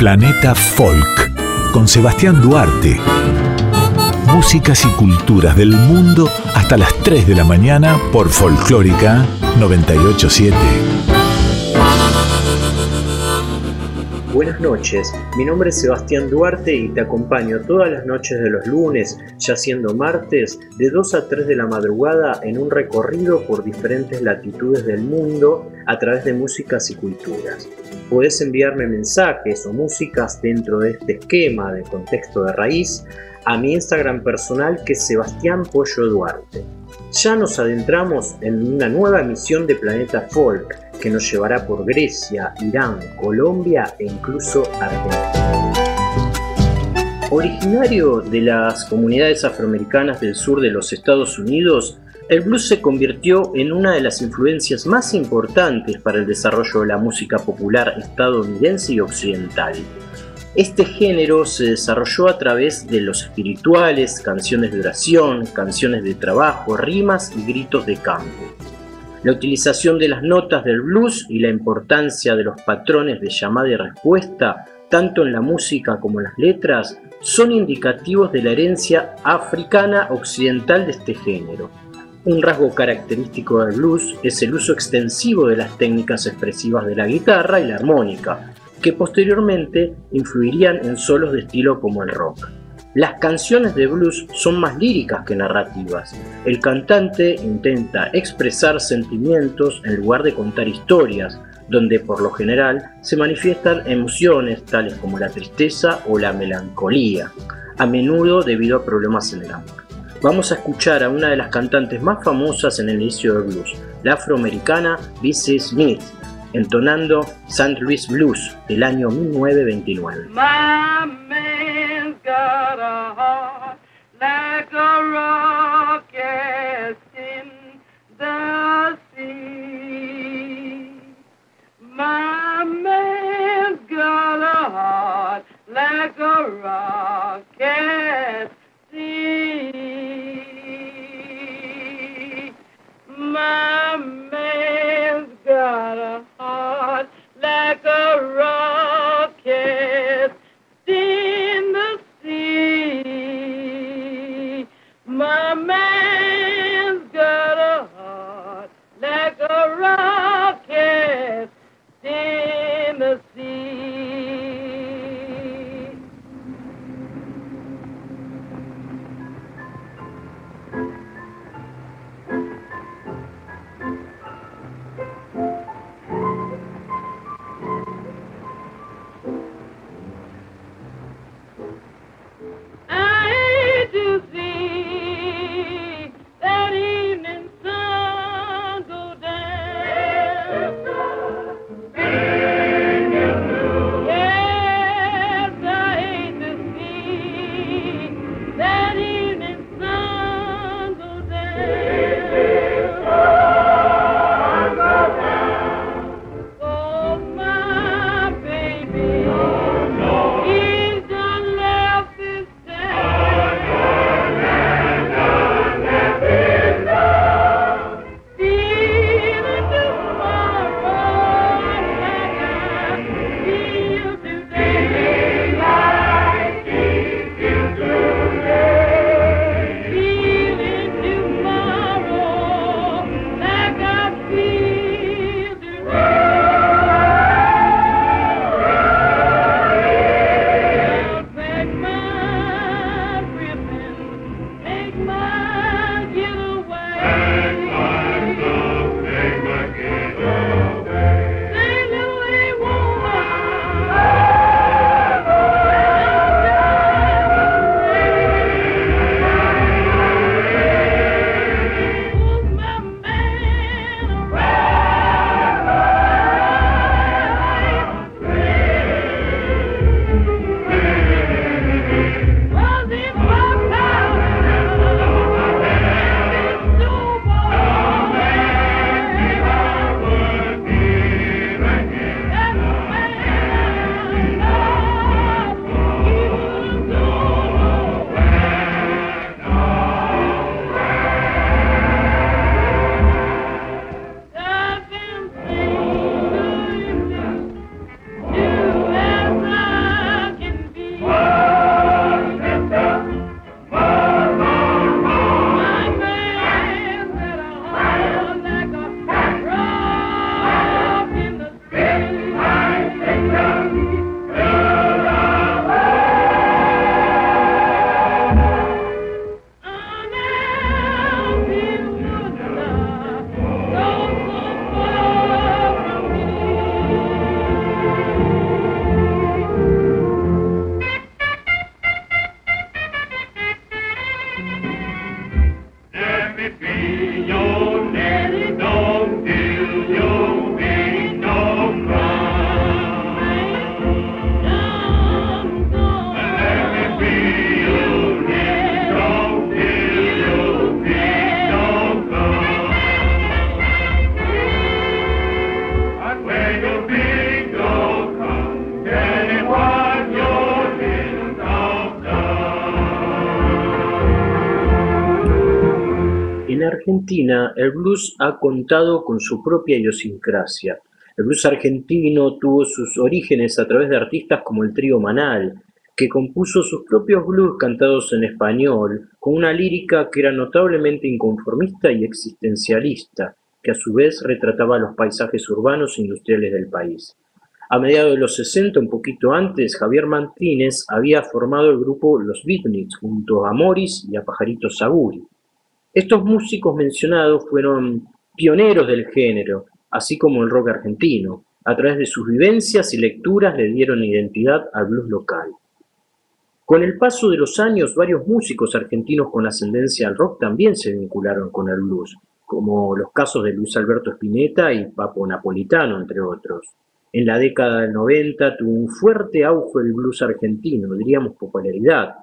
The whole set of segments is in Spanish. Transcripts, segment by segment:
Planeta Folk, con Sebastián Duarte. Músicas y culturas del mundo hasta las 3 de la mañana por Folclórica 987. Buenas noches, mi nombre es Sebastián Duarte y te acompaño todas las noches de los lunes, ya siendo martes, de 2 a 3 de la madrugada en un recorrido por diferentes latitudes del mundo a través de músicas y culturas. Podés enviarme mensajes o músicas dentro de este esquema de contexto de raíz a mi Instagram personal, que es Sebastián Pollo Duarte. Ya nos adentramos en una nueva emisión de Planeta Folk que nos llevará por Grecia, Irán, Colombia e incluso Argentina. Originario de las comunidades afroamericanas del sur de los Estados Unidos, el blues se convirtió en una de las influencias más importantes para el desarrollo de la música popular estadounidense y occidental. Este género se desarrolló a través de los espirituales, canciones de oración, canciones de trabajo, rimas y gritos de campo. La utilización de las notas del blues y la importancia de los patrones de llamada y respuesta, tanto en la música como en las letras, son indicativos de la herencia africana occidental de este género. Un rasgo característico del blues es el uso extensivo de las técnicas expresivas de la guitarra y la armónica, que posteriormente influirían en solos de estilo como el rock. Las canciones de blues son más líricas que narrativas. El cantante intenta expresar sentimientos en lugar de contar historias, donde por lo general se manifiestan emociones tales como la tristeza o la melancolía, a menudo debido a problemas en el amor. Vamos a escuchar a una de las cantantes más famosas en el inicio del blues, la afroamericana Bessie Smith, entonando St. Louis Blues del año 1929. My man's got a heart like a rocket in the sea. My man's got a heart like a rocket sea. My man's got a heart like a rocket in the sea. My man's got a heart like a rocket in the sea. Argentina, el blues ha contado con su propia idiosincrasia. El blues argentino tuvo sus orígenes a través de artistas como el trío Manal, que compuso sus propios blues cantados en español, con una lírica que era notablemente inconformista y existencialista, que a su vez retrataba los paisajes urbanos e industriales del país. A mediados de los 60, un poquito antes, Javier Martínez había formado el grupo Los Beatniks junto a Morris y a Pajarito Saguri. Estos músicos mencionados fueron pioneros del género, así como el rock argentino. A través de sus vivencias y lecturas le dieron identidad al blues local. Con el paso de los años, varios músicos argentinos con ascendencia al rock también se vincularon con el blues, como los casos de Luis Alberto Spinetta y Papo Napolitano, entre otros. En la década del 90 tuvo un fuerte auge el blues argentino, diríamos popularidad.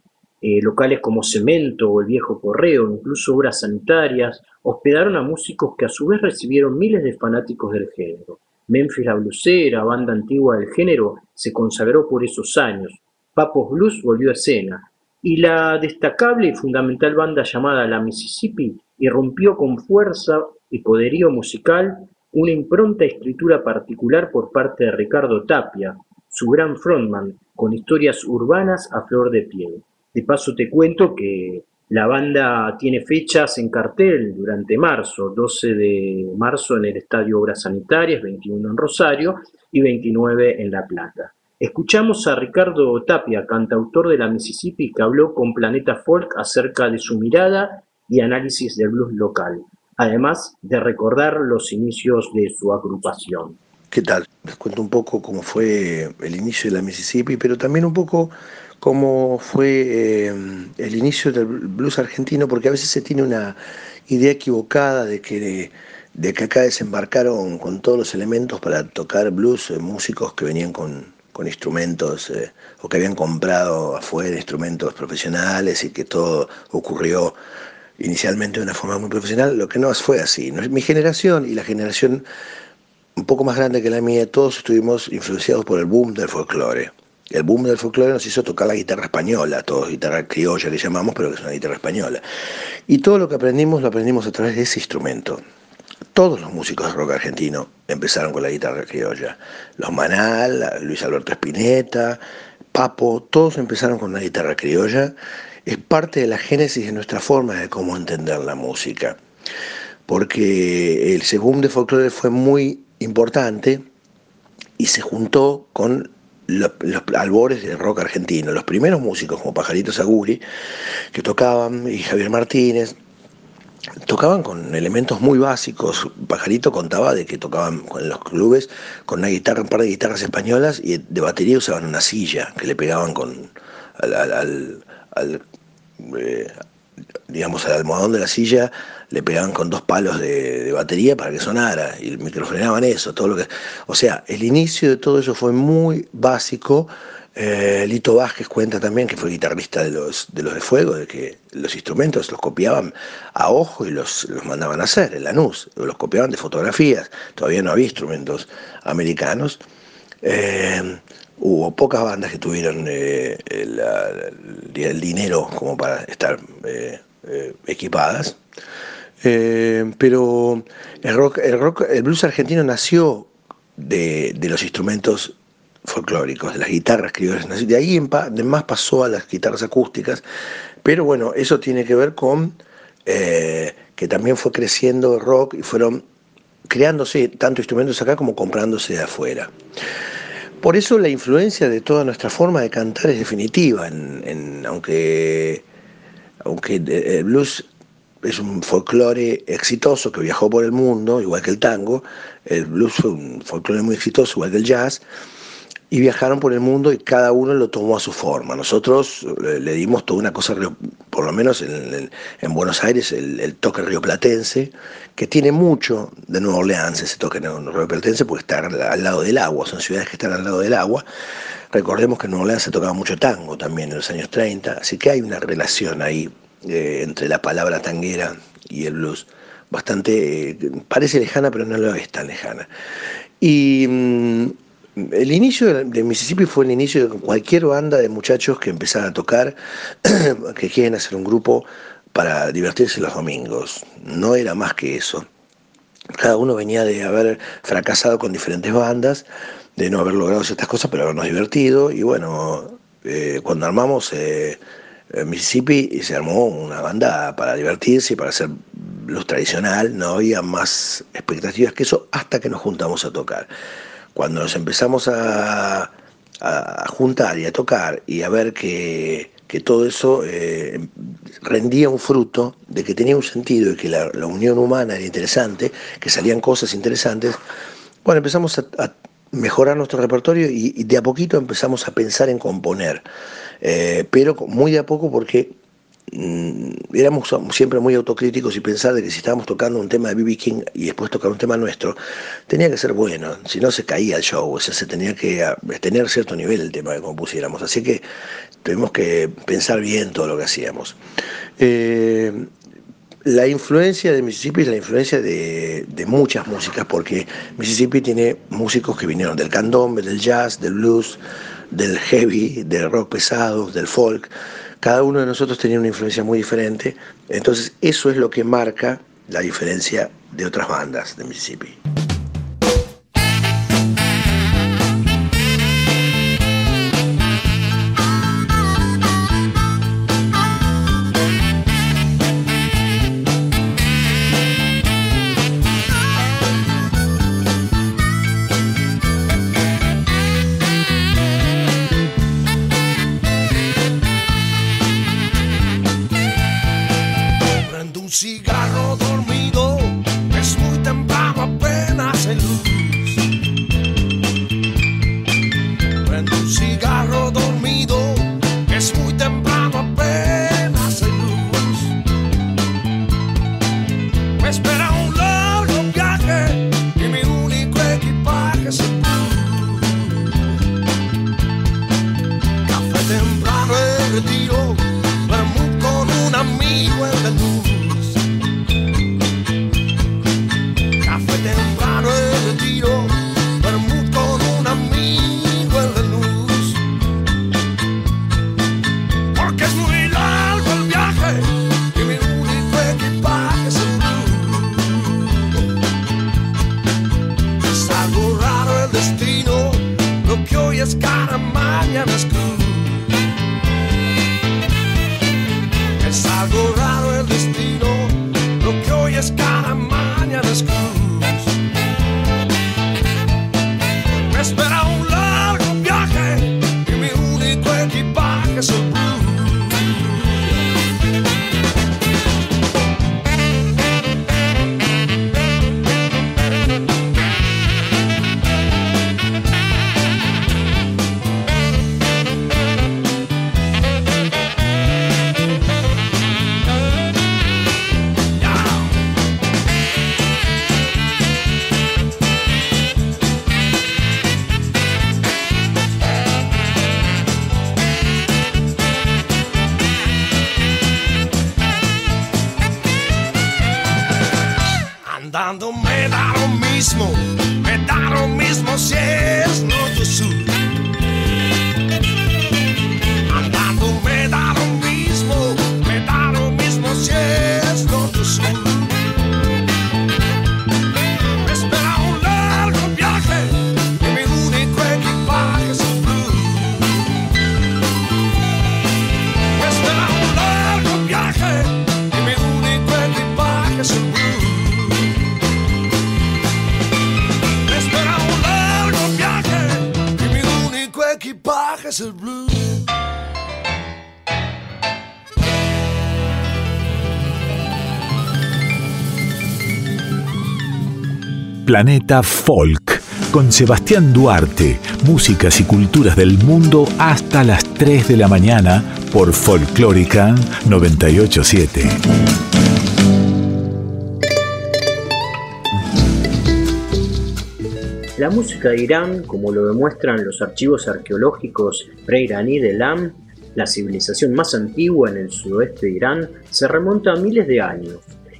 Locales como Cemento o El Viejo Correo, incluso Obras Sanitarias, hospedaron a músicos que a su vez recibieron miles de fanáticos del género. Memphis la Blusera, banda antigua del género, se consagró por esos años. Papos Blues volvió a escena, y la destacable y fundamental banda llamada La Mississippi irrumpió con fuerza y poderío musical una impronta y escritura particular por parte de Ricardo Tapia, su gran frontman, con historias urbanas a flor de piel. De paso te cuento que la banda tiene fechas en cartel durante marzo, 12 de marzo en el Estadio Obras Sanitarias, 21 en Rosario y 29 en La Plata. Escuchamos a Ricardo Tapia, cantautor de la Mississippi, que habló con Planeta Folk acerca de su mirada y análisis del blues local, además de recordar los inicios de su agrupación. ¿Qué tal? Les cuento un poco cómo fue el inicio de la Mississippi, pero también un poco cómo fue el inicio del blues argentino, porque a veces se tiene una idea equivocada de que acá desembarcaron con todos los elementos para tocar blues músicos que venían con instrumentos o que habían comprado afuera instrumentos profesionales y que todo ocurrió inicialmente de una forma muy profesional, lo que no fue así. Mi generación y la generación un poco más grande que la mía, todos estuvimos influenciados por el boom del folclore. El boom del folclore nos hizo tocar la guitarra española, todos guitarra criolla que llamamos, pero que es una guitarra española. Y todo lo que aprendimos, lo aprendimos a través de ese instrumento. Todos los músicos de rock argentino empezaron con la guitarra criolla. Los Manal, Luis Alberto Spinetta, Papo, todos empezaron con la guitarra criolla. Es parte de la génesis de nuestra forma de cómo entender la música. Porque ese boom de folclore fue muy importante y se juntó con los albores del rock argentino. Los primeros músicos como Pajarito Saguri, que tocaban, y Javier Martínez, tocaban con elementos muy básicos. Pajarito contaba de que tocaban en los clubes con una guitarra, un par de guitarras españolas, y de batería usaban una silla que le pegaban digamos, al almohadón de la silla le pegaban con 2 palos de batería para que sonara, y microfoneaban eso, todo lo que... O sea, el inicio de todo eso fue muy básico. Lito Vázquez cuenta también, que fue guitarrista de los de Fuego, de que los instrumentos los copiaban a ojo y los mandaban a hacer en Lanús, los copiaban de fotografías, todavía no había instrumentos americanos. Hubo pocas bandas que tuvieron el dinero como para estar equipadas, pero el blues argentino nació de los instrumentos folclóricos, de las guitarras criollas. De ahí en más pasó a las guitarras acústicas, pero bueno, eso tiene que ver con que también fue creciendo el rock y fueron creándose tanto instrumentos acá como comprándose de afuera. Por eso la influencia de toda nuestra forma de cantar es definitiva, aunque el blues es un folclore exitoso que viajó por el mundo, igual que el tango. El blues fue un folclore muy exitoso, igual que el jazz, y viajaron por el mundo y cada uno lo tomó a su forma. Nosotros le dimos toda una cosa, por lo menos en Buenos Aires, el toque rioplatense, que tiene mucho de Nueva Orleans, ese toque rioplatense, porque está al lado del agua, son ciudades que están al lado del agua. Recordemos que en Nueva Orleans se tocaba mucho tango también en los años 30, así que hay una relación ahí entre la palabra tanguera y el blues, bastante, parece lejana, pero no lo es tan lejana. Y el inicio de Mississippi fue el inicio de cualquier banda de muchachos que empezaran a tocar, que quieren hacer un grupo para divertirse los domingos, no era más que eso. Cada uno venía de haber fracasado con diferentes bandas, de no haber logrado ciertas cosas, pero habernos divertido. Y bueno, cuando armamos Mississippi, se armó una banda para divertirse y para hacer blues tradicional. No había más expectativas que eso hasta que nos juntamos a tocar. Cuando nos empezamos a juntar y a tocar y a ver que todo eso rendía un fruto, de que tenía un sentido y que la unión humana era interesante, que salían cosas interesantes, bueno, empezamos a mejorar nuestro repertorio y de a poquito empezamos a pensar en componer, pero muy de a poco, porque éramos siempre muy autocríticos y pensar de que si estábamos tocando un tema de B.B. King y después tocar un tema nuestro, tenía que ser bueno, si no se caía el show, o sea, se tenía que tener cierto nivel el tema que compusiéramos, así que tuvimos que pensar bien todo lo que hacíamos. La influencia de Mississippi es la influencia de muchas músicas, porque Mississippi tiene músicos que vinieron del candombe, del jazz, del blues, del heavy, del rock pesado, del folk. Cada uno de nosotros tenía una influencia muy diferente, entonces eso es lo que marca la diferencia de otras bandas de Mississippi. Cigarro dormido, es muy temprano, apenas hay luz. Prendo un cigarro dormido, es muy temprano, apenas hay luz. Me espera un largo viaje y mi único equipaje es el blues. Café temprano en retiro, vermut con un amigo en la luz. Temprano en retiro, vermut con un amigo en la luz. Porque es muy largo el viaje y mi único equipaje es el blues. Es algo raro el destino, lo que hoy es cara, mañana es cruz. Es algo raro el destino, lo que hoy es cara, mañana es cruz. Me espera un largo viaje y mi único equipaje es el blues. Andando me da lo mismo si es norte o sur. Andando me da lo mismo si es norte o sur. Me espera un largo viaje y mi único equipaje es el blues. Me espera un largo viaje y mi único equipaje es el blues. Equipaje es el blues. Planeta Folk, con Sebastián Duarte, músicas y culturas del mundo hasta las 3 de la mañana por Folclórica 987. La música de Irán, como lo demuestran los archivos arqueológicos pre-iraní de Elam, la civilización más antigua en el sudoeste de Irán, se remonta a miles de años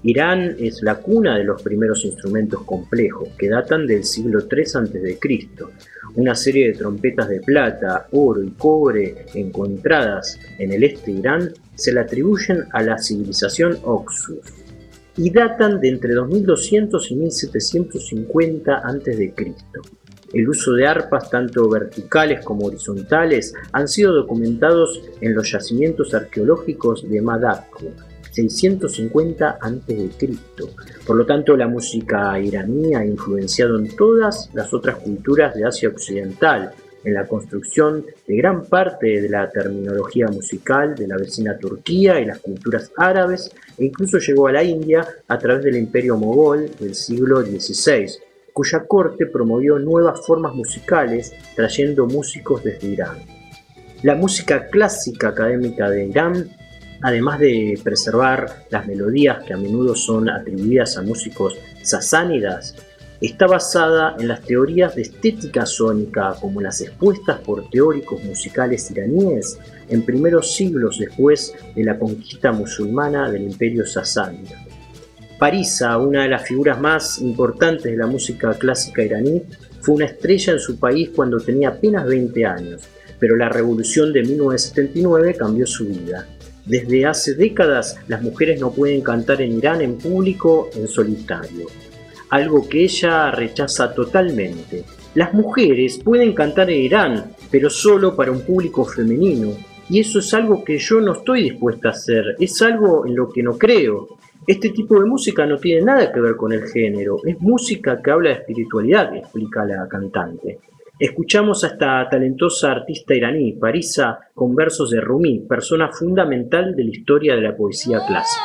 Irán es la cuna de los primeros instrumentos complejos, que datan del siglo III a.C. Una serie de trompetas de plata, oro y cobre encontradas en el este de Irán se le atribuyen a la civilización Oxus y datan de entre 2200 y 1750 a.C. El uso de arpas tanto verticales como horizontales han sido documentados en los yacimientos arqueológicos de Madakko, 650 a.C. Por lo tanto, la música iraní ha influenciado en todas las otras culturas de Asia Occidental, en la construcción de gran parte de la terminología musical de la vecina Turquía y las culturas árabes, e incluso llegó a la India a través del Imperio Mogol del siglo XVI, cuya corte promovió nuevas formas musicales trayendo músicos desde Irán. La música clásica académica de Irán, además de preservar las melodías que a menudo son atribuidas a músicos sasánidas, está basada en las teorías de estética sónica como las expuestas por teóricos musicales iraníes en primeros siglos después de la conquista musulmana del imperio sasánida. Parisa, una de las figuras más importantes de la música clásica iraní, fue una estrella en su país cuando tenía apenas 20 años, pero la revolución de 1979 cambió su vida. Desde hace décadas, las mujeres no pueden cantar en Irán en público en solitario, algo que ella rechaza totalmente. Las mujeres pueden cantar en Irán, pero solo para un público femenino, y eso es algo que yo no estoy dispuesta a hacer, es algo en lo que no creo. Este tipo de música no tiene nada que ver con el género, es música que habla de espiritualidad, explica la cantante. Escuchamos a esta talentosa artista iraní, Parisa, con versos de Rumi, persona fundamental de la historia de la poesía clásica.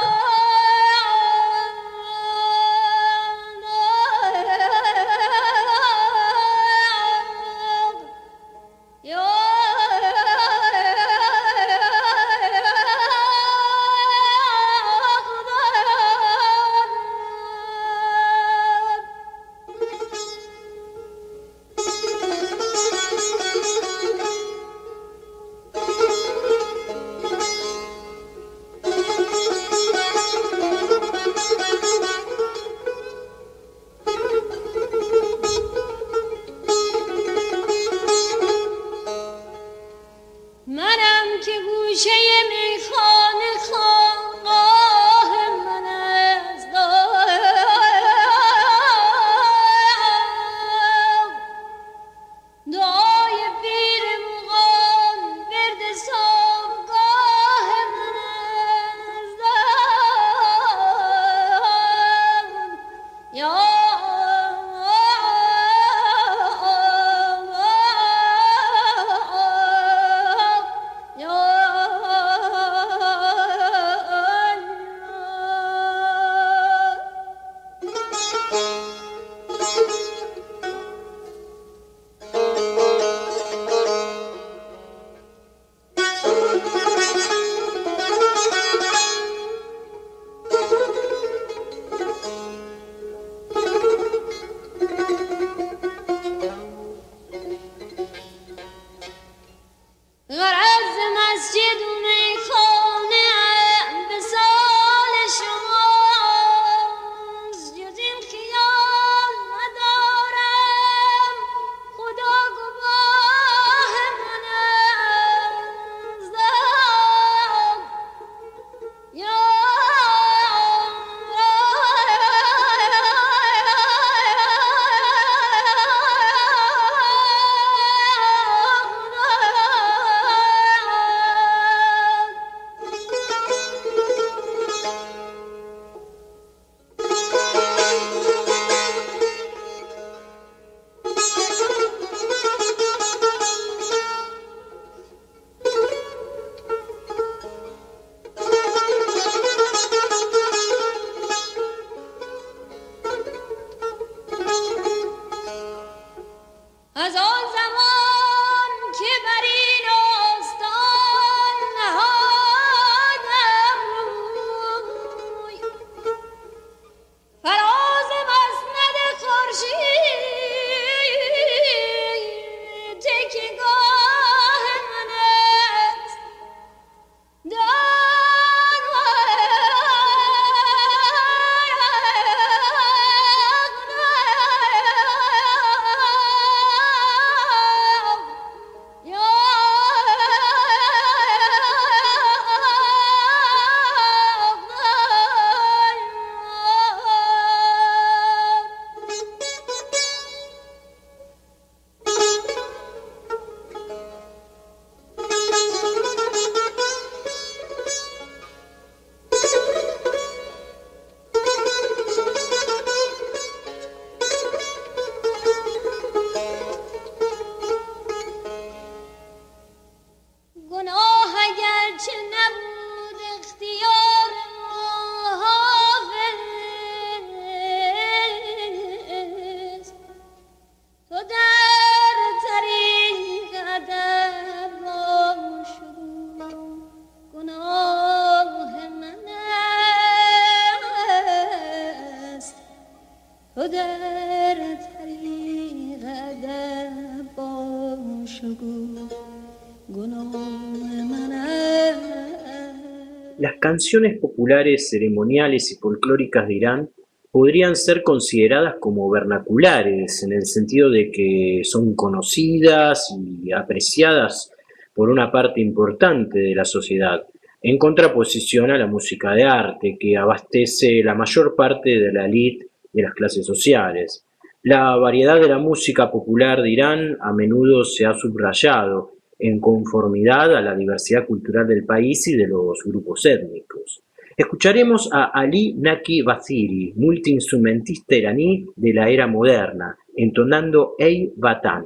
و در طریق ادب باش و گو گناه من است. Las canciones populares, ceremoniales y folclóricas de Irán podrían ser consideradas como vernaculares, en el sentido de que son conocidas y apreciadas por una parte importante de la sociedad, en contraposición a la música de arte, que abastece la mayor parte de la élite de las clases sociales. La variedad de la música popular de Irán a menudo se ha subrayado en conformidad a la diversidad cultural del país y de los grupos étnicos. Escucharemos a Ali Naki Basiri, multiinstrumentista iraní de la era moderna, entonando Ey Vatan.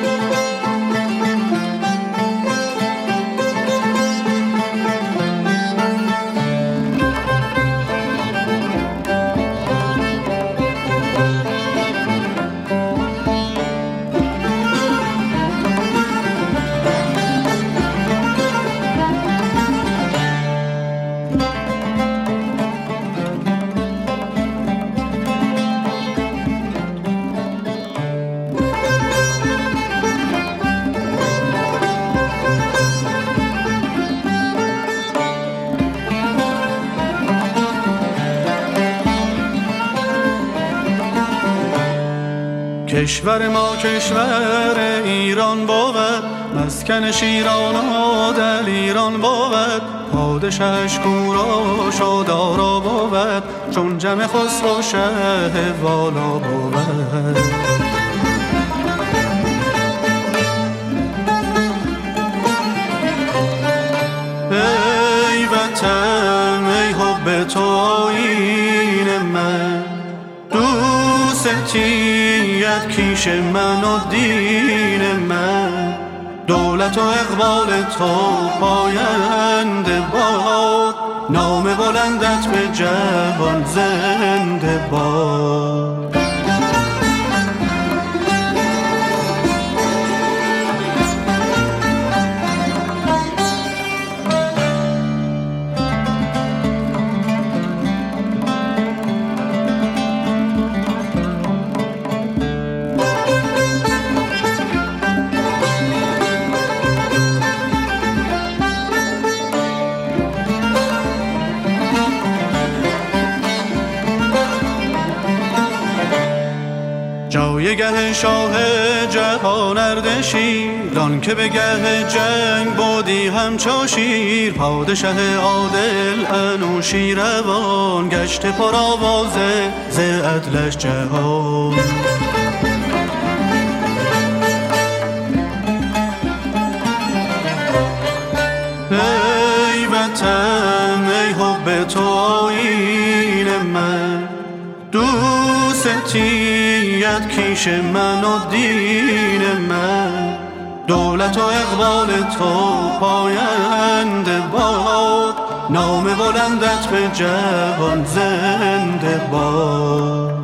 کشور ما کشور ایران بود، مسکن شیران و دلیران بود، پادشاهش کوروش و دارا بود، چون جم خسرو شه والا بود. ای وطن ای حب تو آیین من، دوستیت کیش من و دین من، دولت و اقبال تو پاینده باد، نام بلندت به جهان زنده باد. جایگه شاه جهان اردشیر، آن که به گه جنگ بودی همچو شیر، پادشه عادل انوشیروان، گشت پر آوازه ز عدلش جهان. ای وطن ای حب تو آیین من، دوستیت کیش من و دین من، دولت و اقبال تو پاینده باد، نام بلندت به جهان زنده باد.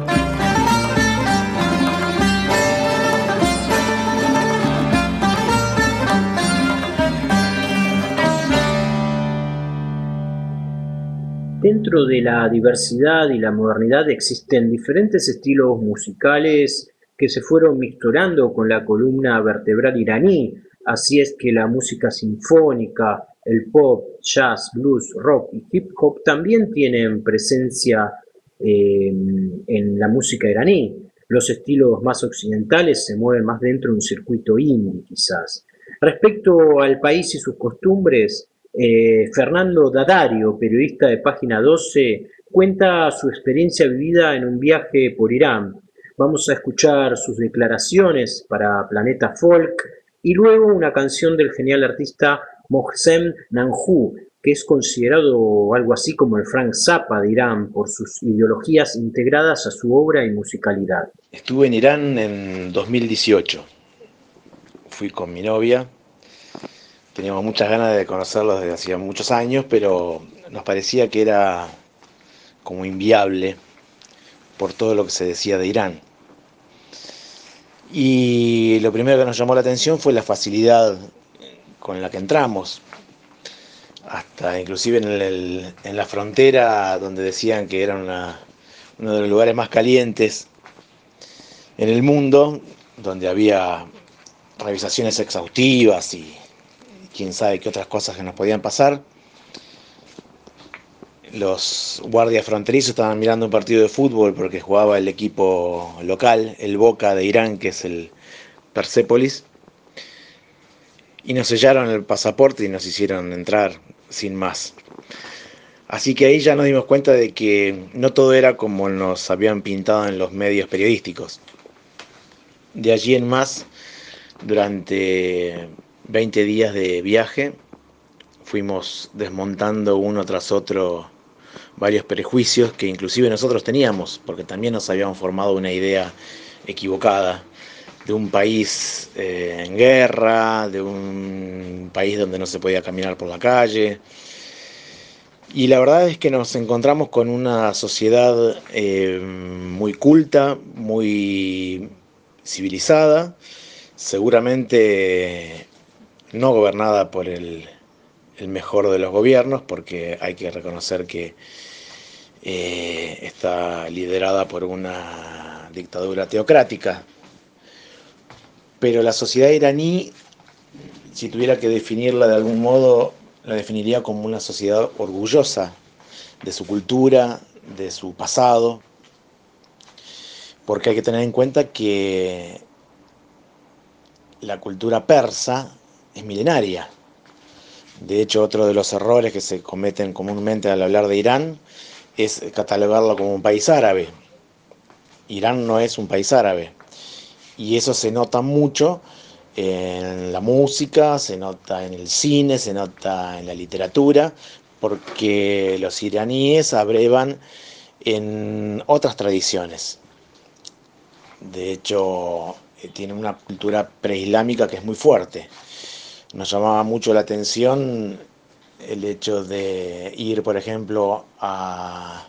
Dentro de la diversidad y la modernidad existen diferentes estilos musicales que se fueron mixturando con la columna vertebral iraní. Así es que la música sinfónica, el pop, jazz, blues, rock y hip hop también tienen presencia en la música iraní. Los estilos más occidentales se mueven más dentro de un circuito indie, quizás. Respecto al país y sus costumbres, Fernando Dadario, periodista de Página 12, cuenta su experiencia vivida en un viaje por Irán. Vamos a escuchar sus declaraciones para Planeta Folk y luego una canción del genial artista Mohsen Nanju, que es considerado algo así como el Frank Zappa de Irán por sus ideologías integradas a su obra y musicalidad. Estuve en Irán en 2018. Fui con mi novia. Teníamos muchas ganas de conocerlos desde hacía muchos años, pero nos parecía que era como inviable por todo lo que se decía de Irán. Y lo primero que nos llamó la atención fue la facilidad con la que entramos. Hasta inclusive en la frontera, donde decían que era uno de los lugares más calientes en el mundo, donde había revisaciones exhaustivas y quién sabe qué otras cosas que nos podían pasar. Los guardias fronterizos estaban mirando un partido de fútbol porque jugaba el equipo local, el Boca de Irán, que es el Persépolis, y nos sellaron el pasaporte y nos hicieron entrar sin más. Así que ahí ya nos dimos cuenta de que no todo era como nos habían pintado en los medios periodísticos. De allí en más, durante 20 días de viaje, fuimos desmontando uno tras otro varios prejuicios que inclusive nosotros teníamos, porque también nos habíamos formado una idea equivocada de un país en guerra, de un país donde no se podía caminar por la calle. Y la verdad es que nos encontramos con una sociedad muy culta, muy civilizada, seguramente no gobernada por el mejor de los gobiernos, porque hay que reconocer que está liderada por una dictadura teocrática. Pero la sociedad iraní, si tuviera que definirla de algún modo, la definiría como una sociedad orgullosa de su cultura, de su pasado, porque hay que tener en cuenta que la cultura persa es milenaria. De hecho, otro de los errores que se cometen comúnmente al hablar de Irán es catalogarlo como un país árabe. Irán no es un país árabe. Y eso se nota mucho en la música, se nota en el cine, se nota en la literatura, porque los iraníes abrevan en otras tradiciones. De hecho, tienen una cultura preislámica que es muy fuerte. Nos llamaba mucho la atención el hecho de ir, por ejemplo, a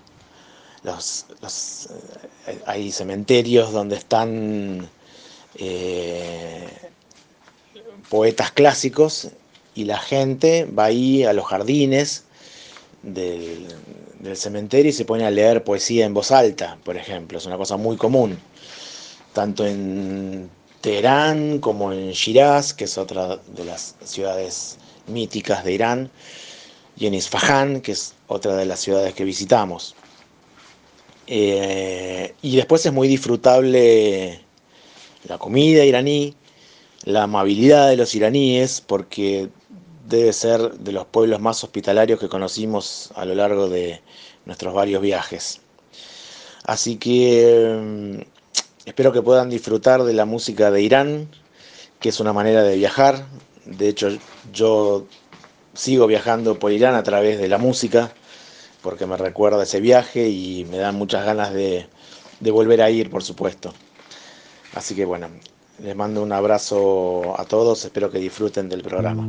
hay cementerios donde están poetas clásicos, y la gente va ahí a los jardines del cementerio y se pone a leer poesía en voz alta, por ejemplo. Es una cosa muy común, tanto en Teherán como en Shiraz, que es otra de las ciudades míticas de Irán, y en Isfahán, que es otra de las ciudades que visitamos. Y después es muy disfrutable la comida iraní, la amabilidad de los iraníes, porque debe ser de los pueblos más hospitalarios que conocimos a lo largo de nuestros varios viajes. Así que espero que puedan disfrutar de la música de Irán, que es una manera de viajar. De hecho, yo sigo viajando por Irán a través de la música, porque me recuerda ese viaje y me dan muchas ganas de volver a ir, por supuesto. Así que bueno, les mando un abrazo a todos, espero que disfruten del programa.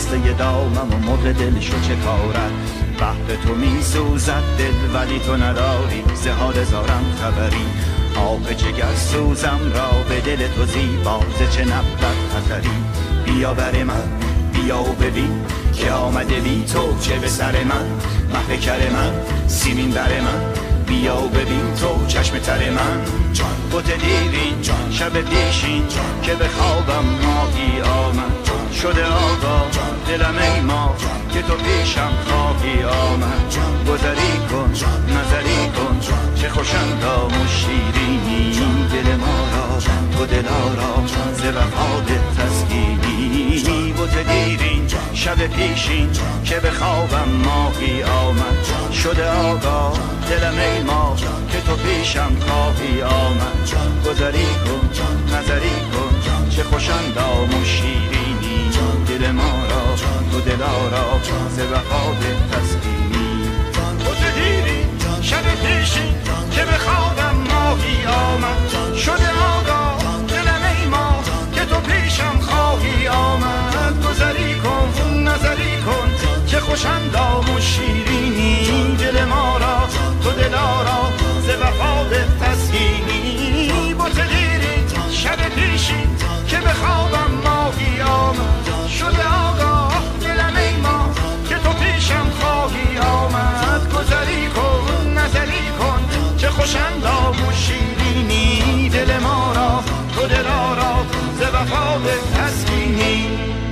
بسته دامم و مرغ دلشو چه کارد بحر تو می سوزد دل ولی تو نداری ز حال زارم خبری آب جگر سوزم را به دل تو زیبا ز چه نبود خطری بیا بر من بیا و ببین که آمده بی تو چه به سر من مه کر من سیمین بر من بیا و ببین تو چشم تر من بوت دیرین شب پیشین که به خوابم ماهی آمد شده آقا دلم ای ما که تو پیشم خواهی آمد گذری کن نظری کن چه خوشندام و شیرینی دل ما را تو دلارا ز وفاد تسکینی بوت دیرین شب پیشین که به خوابم ماهی آمد شده آقا دلم ای ما که تو پیشم خواهی آمد گذری کن نظری کن چه خوشندام و شیرینی دل ما را تو دلارا ز وفاد تسکینی بوت دیرین شب پیشین که به خوابم ماهی آمد شده آقا دلم ای ما که تو پیشم خواهی آمد گذری کن نظری کن چه خوشندام و شیرینی دل ما را تو دلارا ز وفاد تسکینی بوت دیرین شب پیشین که به خوابم ماهی آمد شده آقا دلم ای ما که تو پیشم خواهی آمد گذری کن نظری کن چه خوشندام و شیرینی دل ما را تو دلارا ز وفاد تسکینی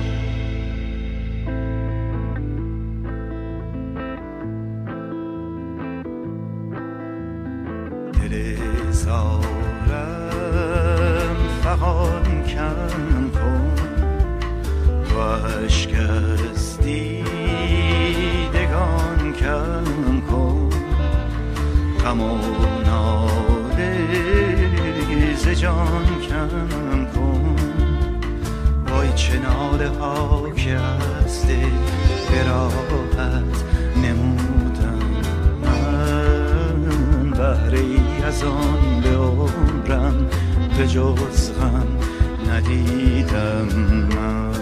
دل زارم فغان کم کن و عشق از دیدگان کم کن غم و ناله ز جان کم کن وای چه ناله ها که از دل به راحت نمودم من بهره ای از آن به عمرم به جز غم ندیدم من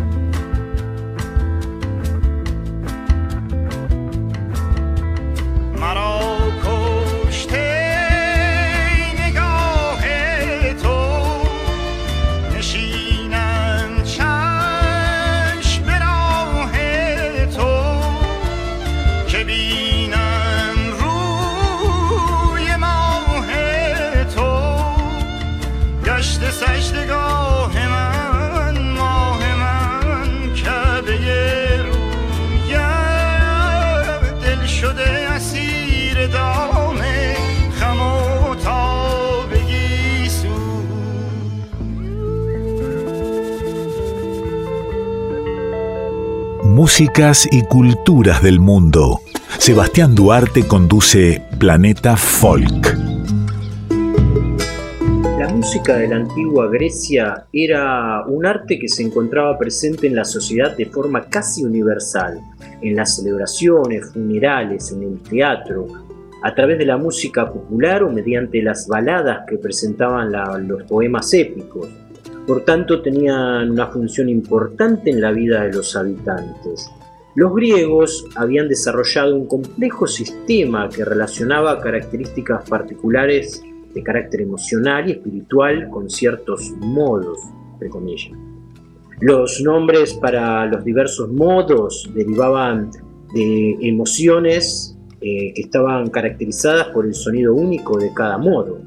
مرا کشته نگاه تو نشینم چشم به راه تو که بینم روی ماه تو گشت سجدگاه من ماه من کعبه رویم دل شده اسیر دام خم و تابگی سو Músicas y culturas del mundo. Sebastián Duarte conduce Planeta Folk. La música de la antigua Grecia era un arte que se encontraba presente en la sociedad de forma casi universal, en las celebraciones, funerales, en el teatro, a través de la música popular o mediante las baladas que presentaban los poemas épicos. Por tanto, tenían una función importante en la vida de los habitantes. Los griegos habían desarrollado un complejo sistema que relacionaba características particulares de carácter emocional y espiritual con ciertos modos, entre comillas. Los nombres para los diversos modos derivaban de emociones que estaban caracterizadas por el sonido único de cada modo.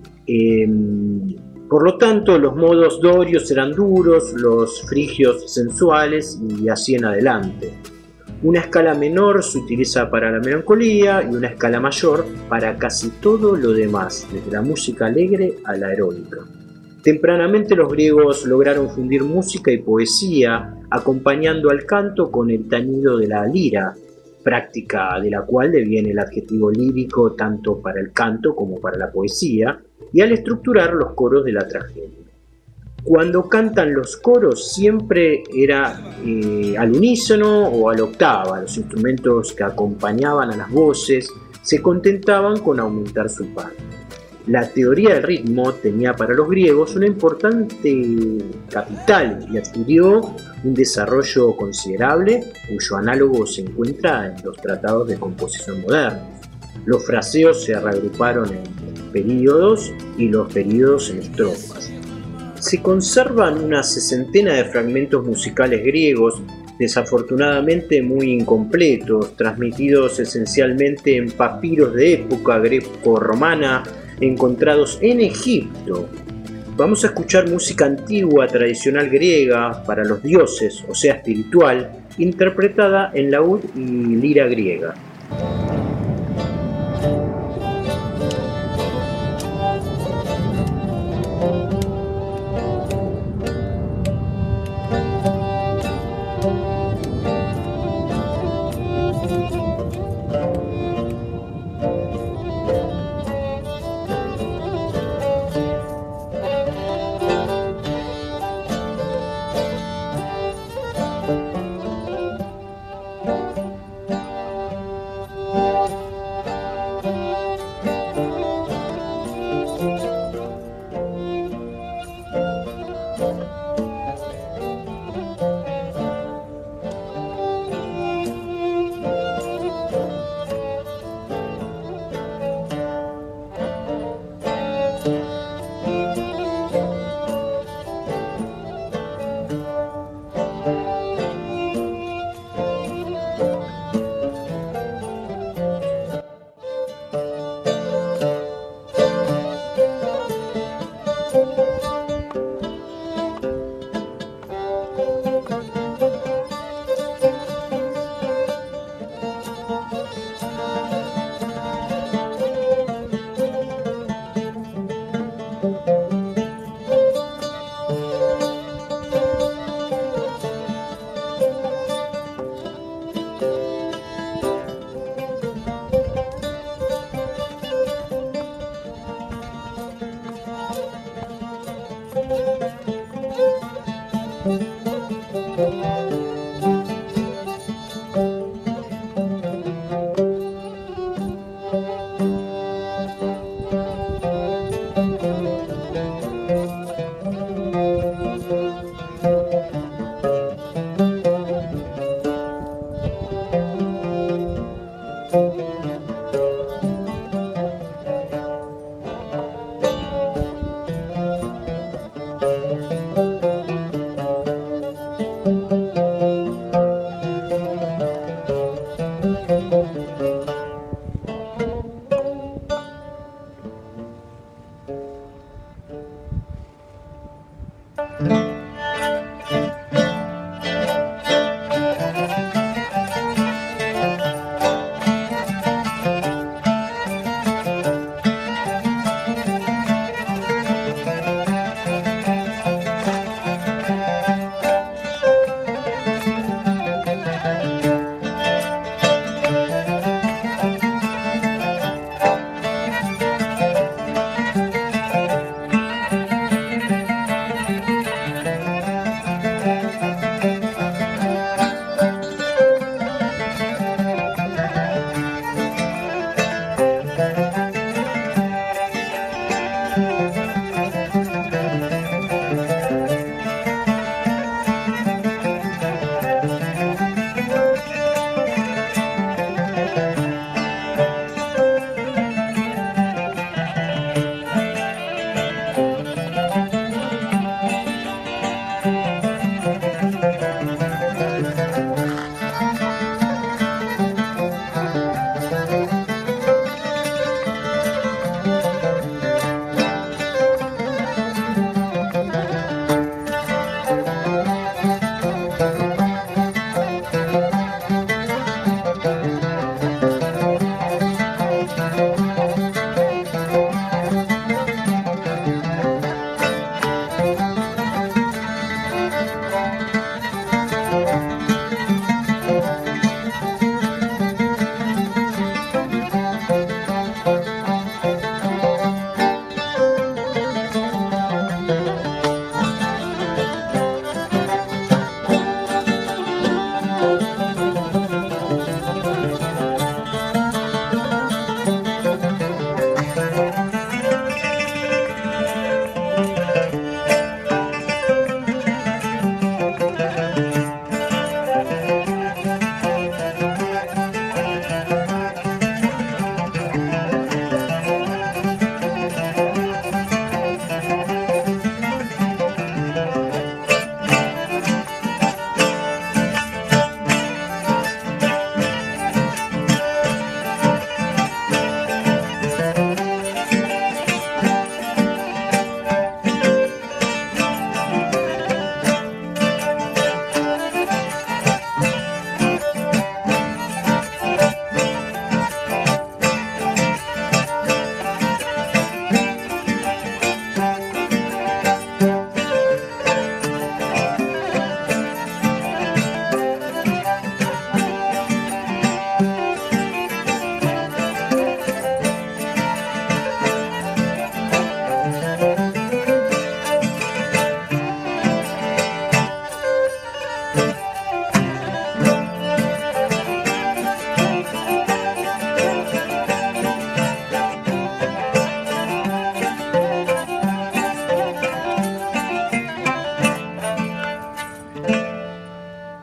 Por lo tanto, los modos dorios eran duros, los frigios sensuales y así en adelante. Una escala menor se utiliza para la melancolía y una escala mayor para casi todo lo demás, desde la música alegre a la heroica. Tempranamente los griegos lograron fundir música y poesía, acompañando al canto con el tañido de la lira, práctica de la cual deviene el adjetivo lírico tanto para el canto como para la poesía, y al estructurar los coros de la tragedia. Cuando cantan los coros siempre era al unísono o a la octava. Los instrumentos que acompañaban a las voces se contentaban con aumentar su par. La teoría del ritmo tenía para los griegos una importante capital y adquirió un desarrollo considerable cuyo análogo se encuentra en los tratados de composición modernos. Los fraseos se reagruparon en períodos y los períodos en estrofas. Se conservan una sesentena de fragmentos musicales griegos, desafortunadamente muy incompletos, transmitidos esencialmente en papiros de época greco-romana encontrados en Egipto. Vamos a escuchar música antigua tradicional griega para los dioses, o sea espiritual, interpretada en laúd y lira griega.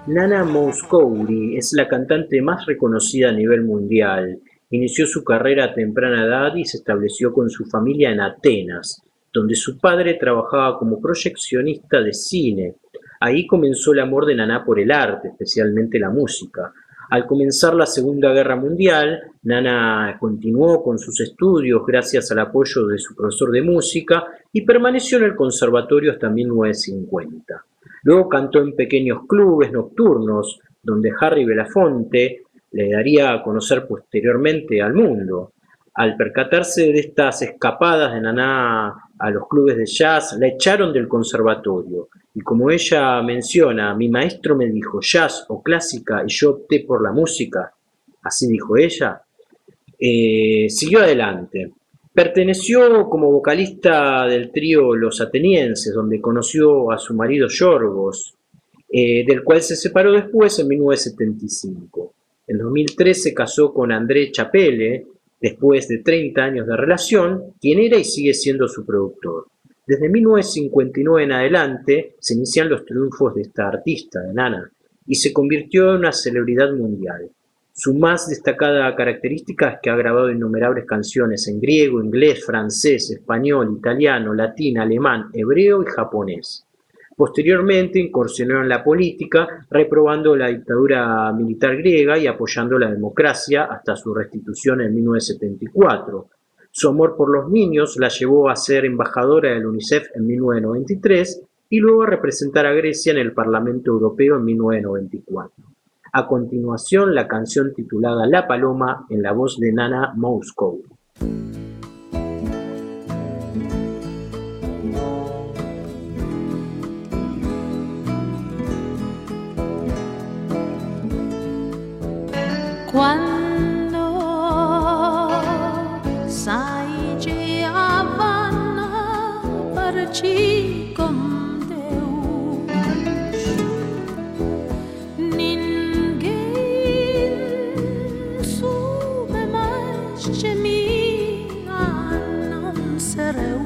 Nana Mouskouri es la cantante más reconocida a nivel mundial. Inició su carrera a temprana edad y se estableció con su familia en Atenas, donde su padre trabajaba como proyeccionista de cine. Ahí comenzó el amor de Nana por el arte, especialmente la música. Al comenzar la Segunda Guerra Mundial, Nana continuó con sus estudios gracias al apoyo de su profesor de música y permaneció en el conservatorio hasta 1950. Luego cantó en pequeños clubes nocturnos, donde Harry Belafonte le daría a conocer posteriormente al mundo. Al percatarse de estas escapadas de Nana a los clubes de jazz, la echaron del conservatorio. Y como ella menciona, mi maestro me dijo jazz o clásica y yo opté por la música, así dijo ella, siguió adelante. Perteneció como vocalista del trío Los Atenienses, donde conoció a su marido Yorgos, del cual se separó después en 1975. En 2003 se casó con André Chapelle, después de 30 años de relación, quien era y sigue siendo su productor. Desde 1959 en adelante se inician los triunfos de esta artista, de Nana, y se convirtió en una celebridad mundial. Su más destacada característica es que ha grabado innumerables canciones en griego, inglés, francés, español, italiano, latín, alemán, hebreo y japonés. Posteriormente incursionó en la política, reprobando la dictadura militar griega y apoyando la democracia hasta su restitución en 1974. Su amor por los niños la llevó a ser embajadora del UNICEF en 1993 y luego a representar a Grecia en el Parlamento Europeo en 1994. A continuación, la canción titulada La Paloma en la voz de Nana Mouskouri. Quando sai che Havana parci con Deus, ninguém soube mais de mim a não ser eu.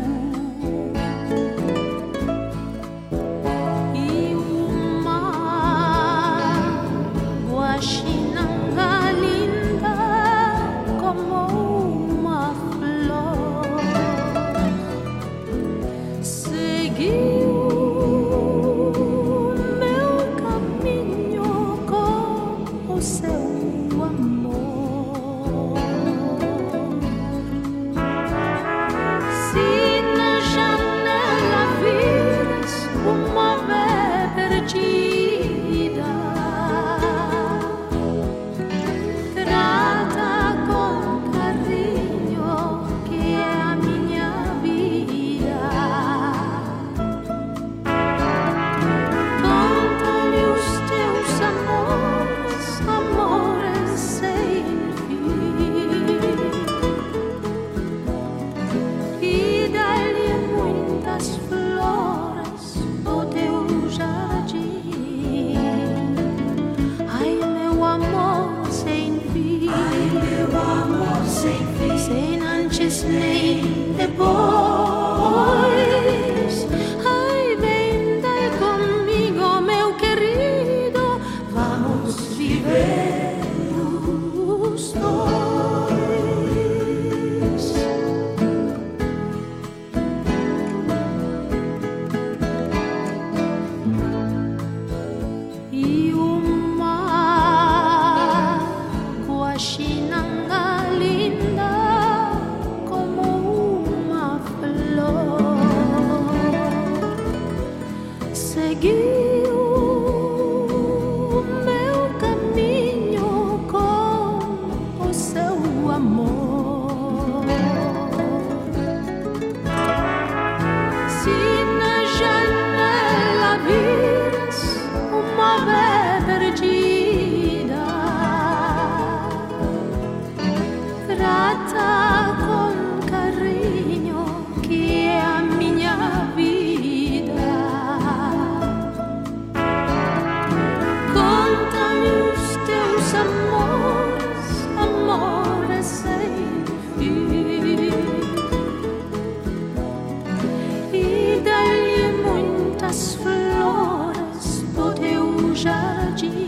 E uma guaxinanga como uma flor seguiu meu caminho com o seu amor. Se na janela vires uma ave perdida, trata com carinho que é a minha vida. Conta-lhe os teus amores, amores sem fim, e dá-lhe muitas flores do teu jardim. Ai, meu amor sem fim, ai, meu amor sem fim, sem antes nem depois. Ai, vem daí comigo, meu querido, vamos viver os dois. E uma guaxinanga linda como uma flor seguiu meu caminho com o seu amor. Se na janela vires uma ave perdida, trata com carinho que é a minha vida. Conta-lhe os teus amores, amores sem fim, e dá-lhe muitas flores do teu jardim.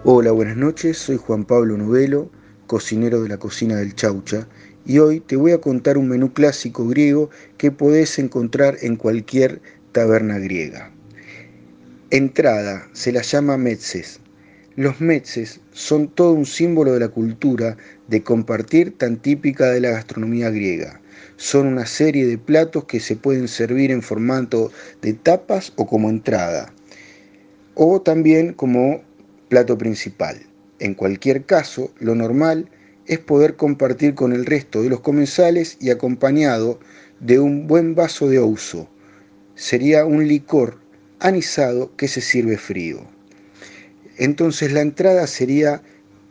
Hola, buenas noches, soy Juan Pablo Novelo, cocinero de la cocina del Chaucha, y hoy te voy a contar un menú clásico griego que podés encontrar en cualquier taberna griega. Entrada, se la llama metzes. Los metzes son todo un símbolo de la cultura de compartir tan típica de la gastronomía griega. Son una serie de platos que se pueden servir en formato de tapas o como entrada, o también como plato principal. En cualquier caso, lo normal es poder compartir con el resto de los comensales y acompañado de un buen vaso de ouzo. Sería un licor anisado que se sirve frío. Entonces la entrada sería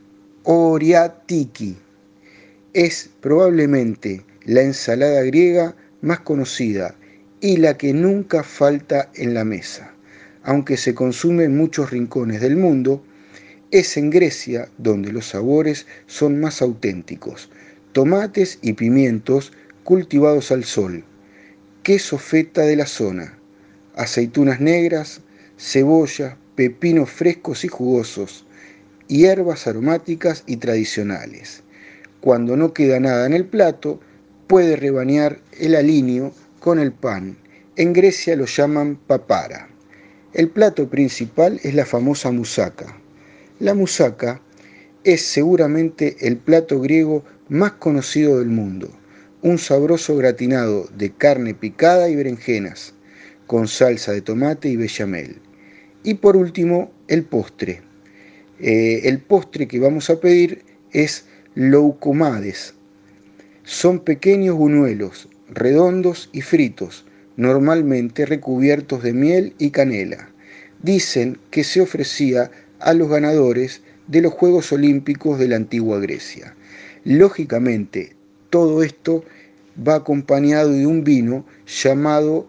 oriatiki. Es probablemente la ensalada griega más conocida y la que nunca falta en la mesa. Aunque se consume en muchos rincones del mundo, es en Grecia donde los sabores son más auténticos. Tomates y pimientos cultivados al sol, queso feta de la zona, aceitunas negras, cebolla, pepinos frescos y jugosos, hierbas aromáticas y tradicionales. Cuando no queda nada en el plato, puede rebañar el aliño con el pan. En Grecia lo llaman papara. El plato principal es la famosa moussaka. La moussaka es seguramente el plato griego más conocido del mundo. Un sabroso gratinado de carne picada y berenjenas, con salsa de tomate y bechamel. Y por último, el postre. El postre que vamos a pedir es loukomades. Son pequeños buñuelos, redondos y fritos, normalmente recubiertos de miel y canela. Dicen que se ofrecía a los ganadores de los Juegos Olímpicos de la antigua Grecia. Lógicamente, todo esto va acompañado de un vino llamado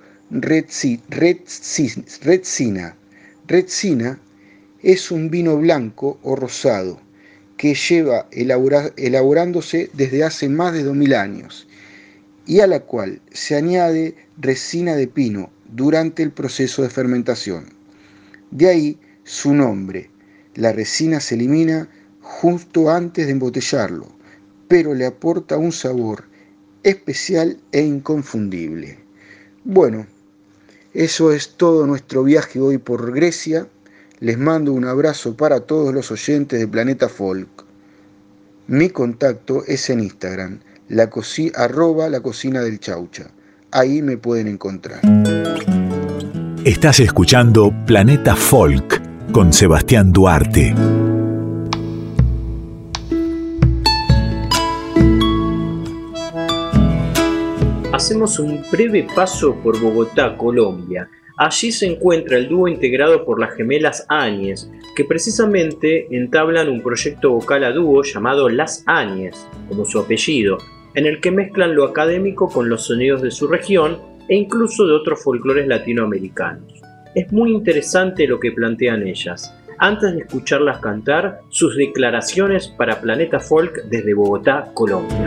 retsina. Retsina es un vino blanco o rosado que lleva elaborándose desde hace más de 2000 años y a la cual se añade resina de pino durante el proceso de fermentación. De ahí su nombre. La resina se elimina justo antes de embotellarlo, pero le aporta un sabor especial e inconfundible. Bueno, eso es todo nuestro viaje hoy por Grecia. Les mando un abrazo para todos los oyentes de Planeta Folk. Mi contacto es en Instagram, @la cocina del Chaucha. Ahí me pueden encontrar. Estás escuchando Planeta Folk con Sebastián Duarte. Hacemos un breve paso por Bogotá, Colombia. Allí se encuentra el dúo integrado por las gemelas Áñez, que precisamente entablan un proyecto vocal a dúo llamado Las Áñez, como su apellido, en el que mezclan lo académico con los sonidos de su región e incluso de otros folclores latinoamericanos. Es muy interesante lo que plantean ellas. Antes de escucharlas cantar, sus declaraciones para Planeta Folk desde Bogotá, Colombia.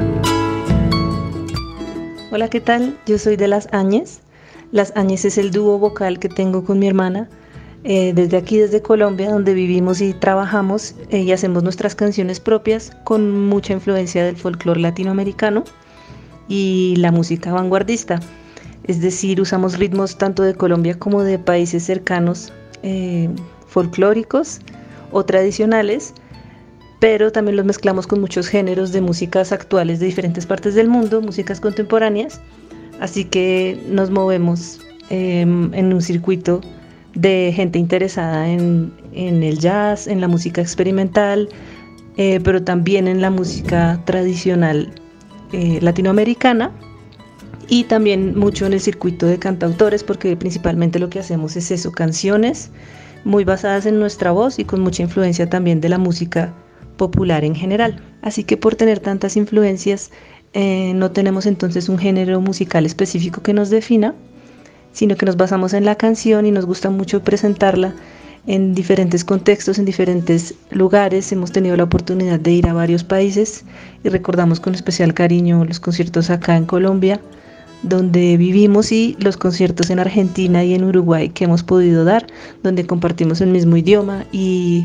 Hola, ¿qué tal? Yo soy de Las Áñez. Las Áñez es el dúo vocal que tengo con mi hermana. Desde aquí, desde Colombia, donde vivimos y trabajamos, y hacemos nuestras canciones propias con mucha influencia del folclore latinoamericano y la música vanguardista. Es decir, usamos ritmos tanto de Colombia como de países cercanos, folclóricos o tradicionales, pero también los mezclamos con muchos géneros de músicas actuales de diferentes partes del mundo, músicas contemporáneas, así que nos movemos en un circuito de gente interesada en el jazz, en la música experimental, pero también en la música tradicional latinoamericana, y también mucho en el circuito de cantautores, porque principalmente lo que hacemos es eso, canciones muy basadas en nuestra voz y con mucha influencia también de la música popular en general. Así que por tener tantas influencias, no tenemos entonces un género musical específico que nos defina, sino que nos basamos en la canción y nos gusta mucho presentarla en diferentes contextos, en diferentes lugares. Hemos tenido la oportunidad de ir a varios países y recordamos con especial cariño los conciertos acá en Colombia, donde vivimos, y los conciertos en Argentina y en Uruguay que hemos podido dar, donde compartimos el mismo idioma y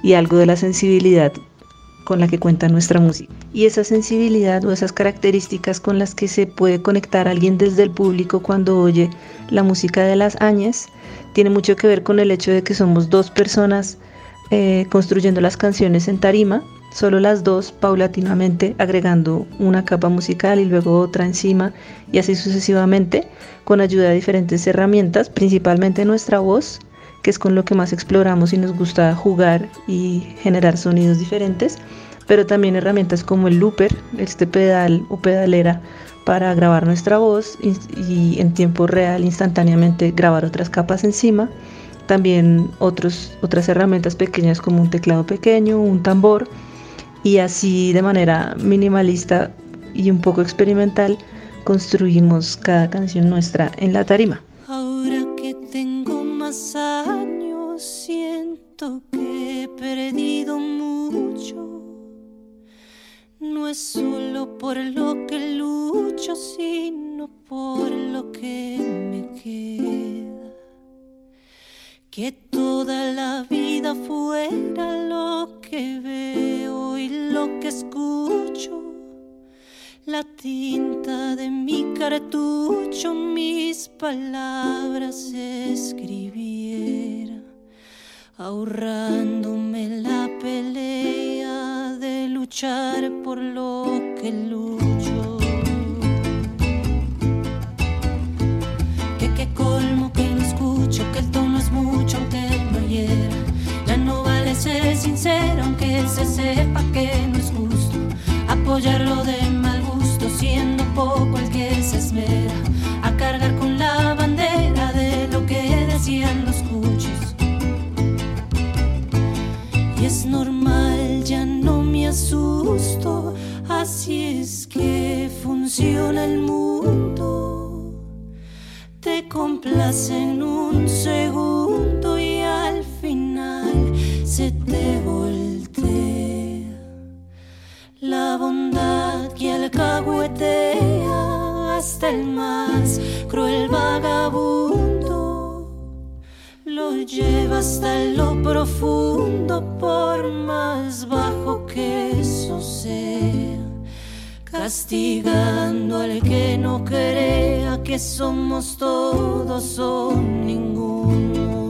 y algo de la sensibilidad con la que cuenta nuestra música. Y esa sensibilidad o esas características con las que se puede conectar alguien desde el público cuando oye la música de Las Áñez tiene mucho que ver con el hecho de que somos dos personas construyendo las canciones en tarima, solo las dos, paulatinamente agregando una capa musical y luego otra encima y así sucesivamente, con ayuda de diferentes herramientas, principalmente nuestra voz, que es con lo que más exploramos y nos gusta jugar y generar sonidos diferentes, pero también herramientas como el looper, este pedal o pedalera para grabar nuestra voz y en tiempo real instantáneamente grabar otras capas encima. También otras herramientas pequeñas como un teclado pequeño, un tambor, y así de manera minimalista y un poco experimental construimos cada canción nuestra en la tarima. Ahora que tengo más años siento que he perdido mucho. No es solo por lo que lucho, sino por lo que me queda. Que toda la vida fuera lo que veo y lo que escucho. La tinta de mi cartucho, mis palabras escribiera, ahorrándome la pelea de luchar por lo que lucho. Que colmo que no escucho, que el tono es mucho aunque no hiera. Ya no vale ser sincero aunque se sepa que no es justo apoyarlo de mal gusto, siendo poco el que se esmera a cargar con la bandera de lo que decían los cuchos. Y es normal, ya no me asusto, así es que funciona el mundo. Te complace en un segundo y al final se te voltea la bondad que alcahuetea hasta el más cruel vagabundo. Lo lleva hasta lo profundo por más bajo que eso sea, castigando al que no crea que somos todos o ninguno.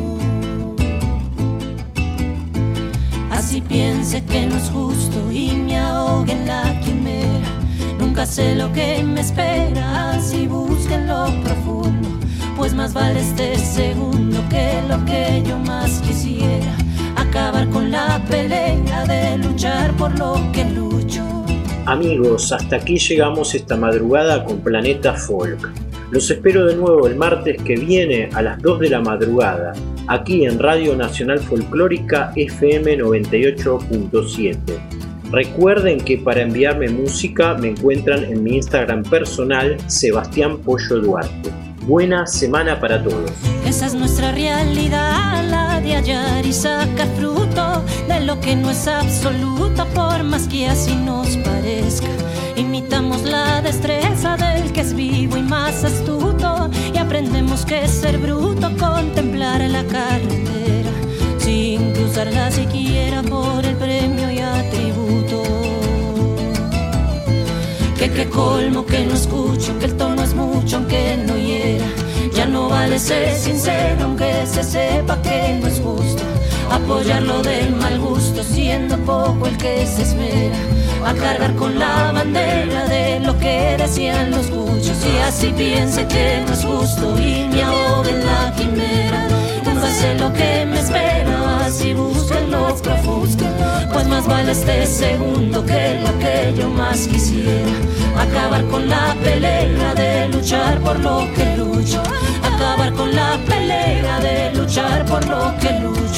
Así piense que no es justo y me ahogue en la quimera. Nunca sé lo que me espera, así busque en lo profundo, pues más vale este segundo que lo que yo más quisiera. Acabar con la pelea de luchar por lo que lucho. Amigos, hasta aquí llegamos esta madrugada con Planeta Folk. Los espero de nuevo el martes que viene a las 2 de la madrugada, aquí en Radio Nacional Folclórica FM 98.7. Recuerden que para enviarme música me encuentran en mi Instagram personal, Sebastián Pollo Duarte. Buena semana para todos. Esa es nuestra realidad, la de hallar y sacar fruto de lo que no es absoluto, por más que así nos parezca. Imitamos la destreza del que es vivo y más astuto, y aprendemos que es ser bruto, contemplar la carretera sin cruzarla siquiera por el premio y atributo. Que colmo que no escucho, que el tono es mucho aunque no hiera. Ya no vale ser sincero aunque se sepa que no es justo apoyarlo del mal gusto, siendo poco el que se esmera a cargar con la bandera de lo que decían los cuchos. Y así piense que no es justo y me ahogue en la quimera. Nunca sé lo que me espera, así busco en lo profundo, pues más vale este segundo que lo que yo más quisiera. Acabar con la pelea de luchar por lo que lucho. Acabar con la pelea de luchar por lo que lucho.